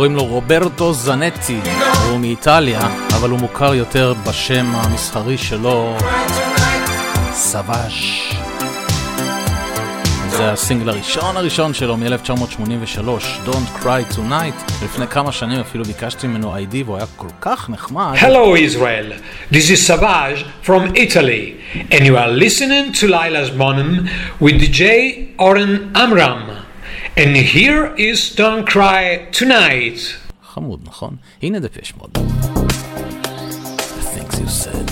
קוראים לו רוברטו זנטי, הוא מאיטליה, אבל הוא מוכר יותר בשם המסחרי שלו, סוואז'. זה הסינגל הראשון הראשון שלו מ-אלף תשע מאות שמונים ושלוש, Don't Cry Tonight. לפני כמה שנים אפילו ביקשתי ממנו איי די והוא היה כל כך נחמד. Hello Israel, this is Savage from Italy and you are listening to Laila's Monim with די ג'יי Oren Amram and here is Don't Cry Tonight. חמוד, נכון? הנה דפש מוד. The things you said.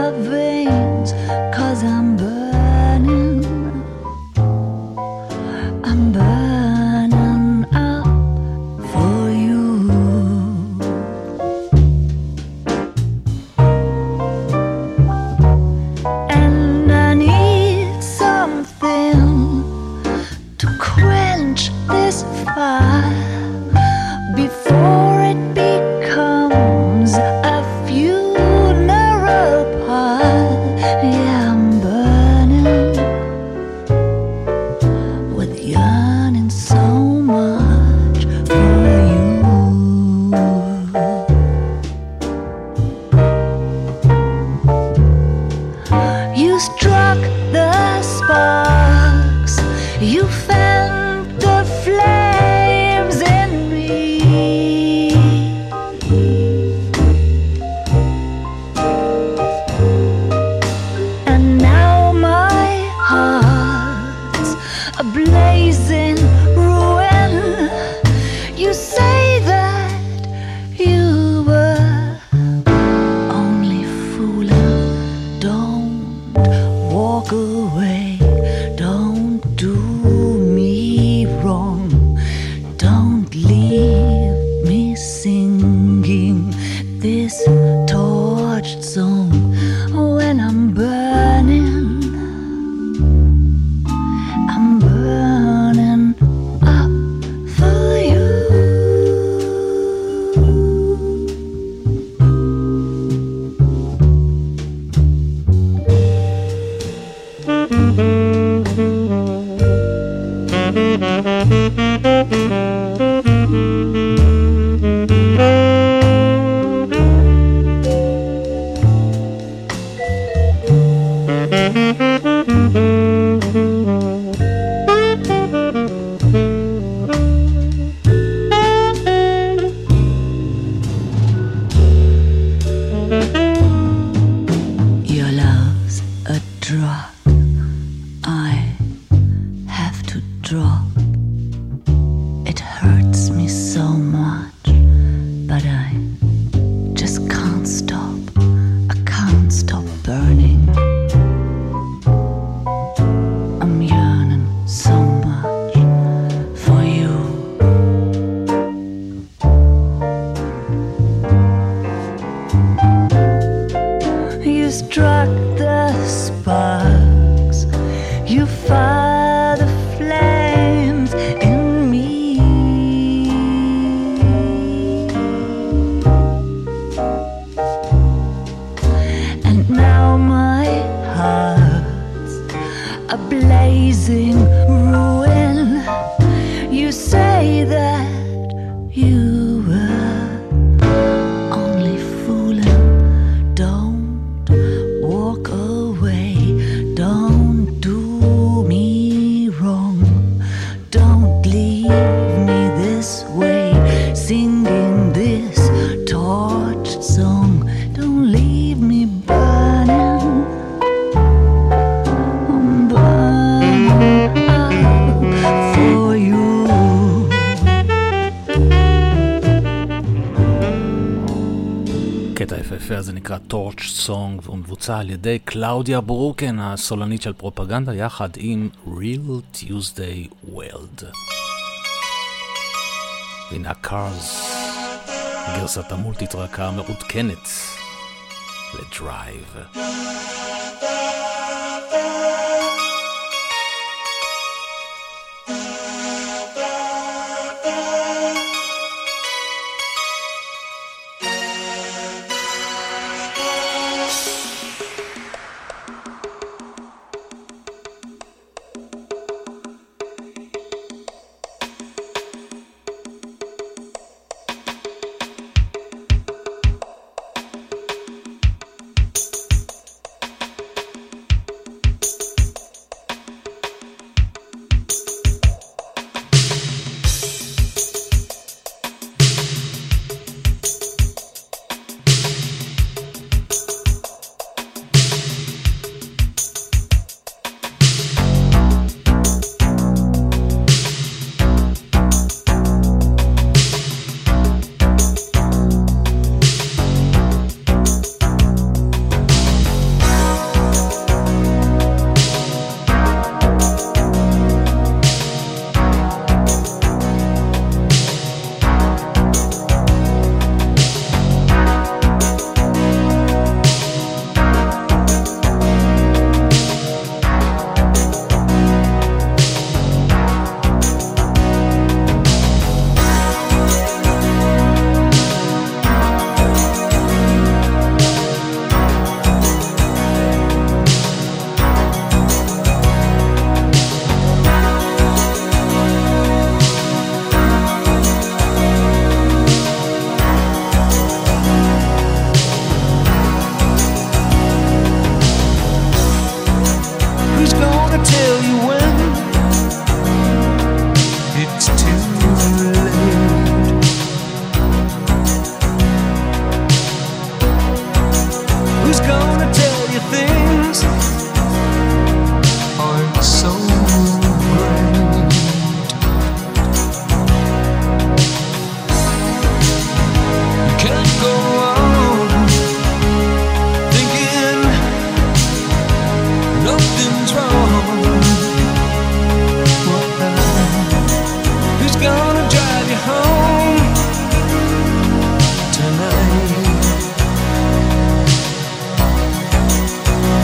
my veins, 'cause I'm burning, I'm burning up for you. And I need something to quench this fire before it becomes a funeral pyre. Yeah, I'm burning with yearning so much for you. You struck the sparks, you fanned the flames in me, and now my heart's a blazing ruin. You say that you were only fooling. Don't walk away, don't do me wrong, don't leave me singing this torched song when I'm burning, I'm burning up for you. Your love's a drug I have to drop. It hurts me so much, but I just can't stop. I can't stop burning. I'm yearning so much for you. You struck the sparks, you fired the flames in me, and now my heart's a blazing ruin. You say that you were only fooling. Don't walk away, don't do me wrong, don't leave me this way, singing this torched song. Don't leave me burning, I'm burning up for you. קטע יפהפה הזה נקרא Torch Song, והוא מבוצע על ידי קלאודיה ברוקן, הסולנית של פרופגנדה, יחד עם Real Tuesday World. הנה הקארס, גרסת המולטיטרקה המעודכנת לדרייב. gonna tell you things aren't so great. You can't go on thinking nothing's wrong. Who's gonna drive you home tonight?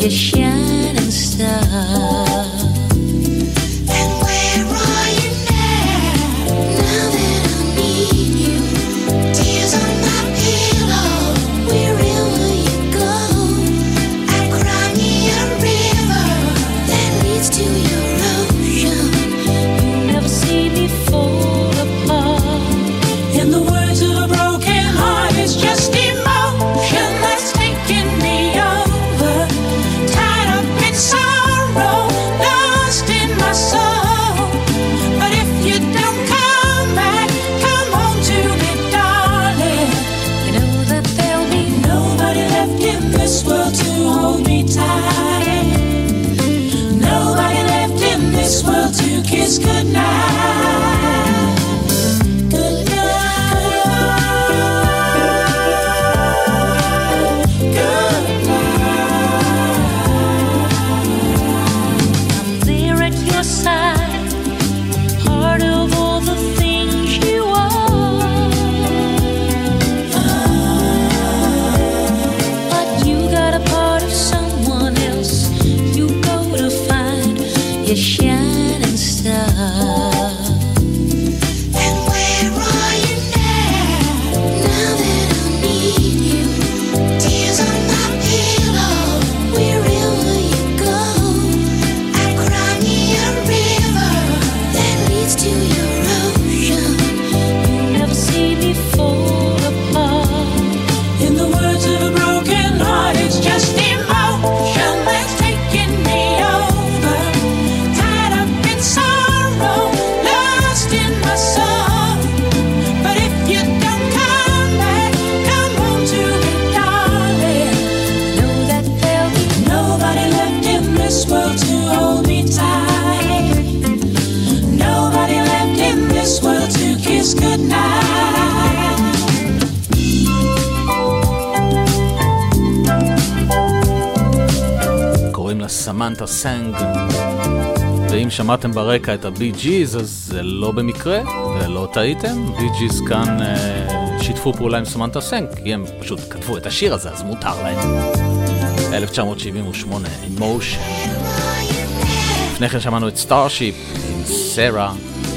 you shining star. And where are you now? Now that I need you, tears on my pillow. Wherever you go, I cry me a river that leads to your ocean. You never see me fall apart. In the words of a broken heart, it's just emotion that's taking me over. Tied up in sorrow, lost in my soul. But if you don't come back, come home to me, darling. You know that there'll be Nobody left in this world to hold me tight. Nobody left in this world to kiss goodnight. Goodnight. Goodnight. I'm there at your side, part of all the things you are. But you got a part of someone else. You go to find your shining star. And where are you now? Now that I need you, tears on my pillow. Wherever you go, I cry me a river that leads to your ocean. You never see me fall apart. In the words of a broken heart, it's just emotion that's taking me over. Tied up in sorrow, lost in my soul. But if you don't come back, come home to me, darling. Know that there'll be Nobody left in this world to hold me tight. Nobody left in this world to kiss goodnight. קוראים לה סמנתה סנג, ואם שמעתם ברקע את הבי ג'יז אז זה לא במקרה ולא טעיתם. בי ג'יז כאן אה, שיתפו פעולה עם סמנתה סנג כי הם פשוט כתבו את השיר הזה, אז מותר להם. אלף תשע מאות שבעים ושמונה, Emotion. לפני כן שמענו את סטארשיפ עם סרה,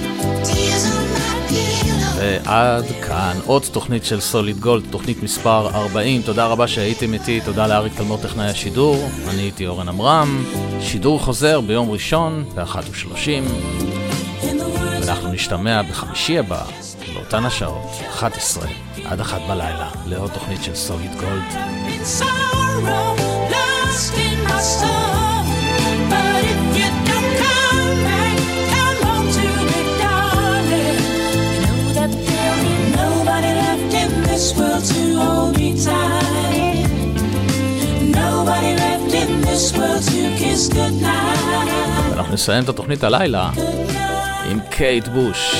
ועד כאן עוד תוכנית של סוליד גולד, תוכנית מספר ארבעים. תודה רבה שהייתם איתי, תודה לאריק תלמור טכנאי השידור. אני הייתי אורן עמרם. שידור חוזר ביום ראשון ב-אחת ושלושים, ואנחנו נשתמע בחמישי הבא באותן השעות אחת עשרה עד אחת בלילה לעוד תוכנית של סוליד גולד. In sorrow, lost in my soul. But if you don't come back, come home to me, darling. You know that there'll be nobody left in this world to hold me tight. Nobody left in this world to kiss goodnight. ואנחנו נסיים את התוכנית הלילה עם קייט בוש,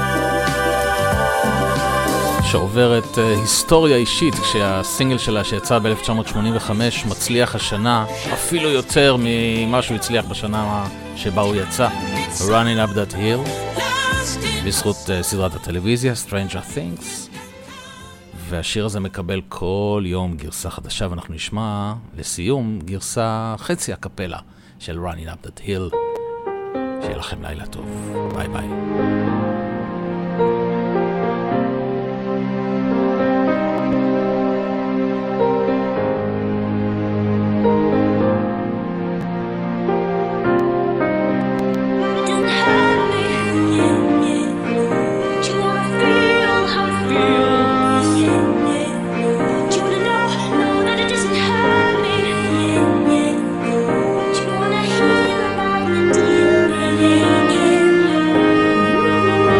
שעוברת uh, היסטוריה אישית כשהסינגל שלה שיצא ב-אלף תשע מאות שמונים וחמש מצליח השנה אפילו יותר ממה שהוא הצליח בשנה שבה הוא יצא, Running Up That Hill, בזכות uh, סדרת הטלוויזיה Stranger Things. והשיר הזה מקבל כל יום גרסה חדשה, ואנחנו נשמע לסיום גרסה חצי הקפלה של Running Up That Hill. שיהיה לכם לילה טוב, ביי ביי. Wanna hear about the deal, yeah, yeah.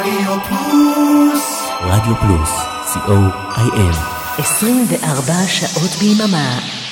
רדיו פלוס. רדיו פלוס, סי או איי אל. עשרים וארבע שעות ביממה.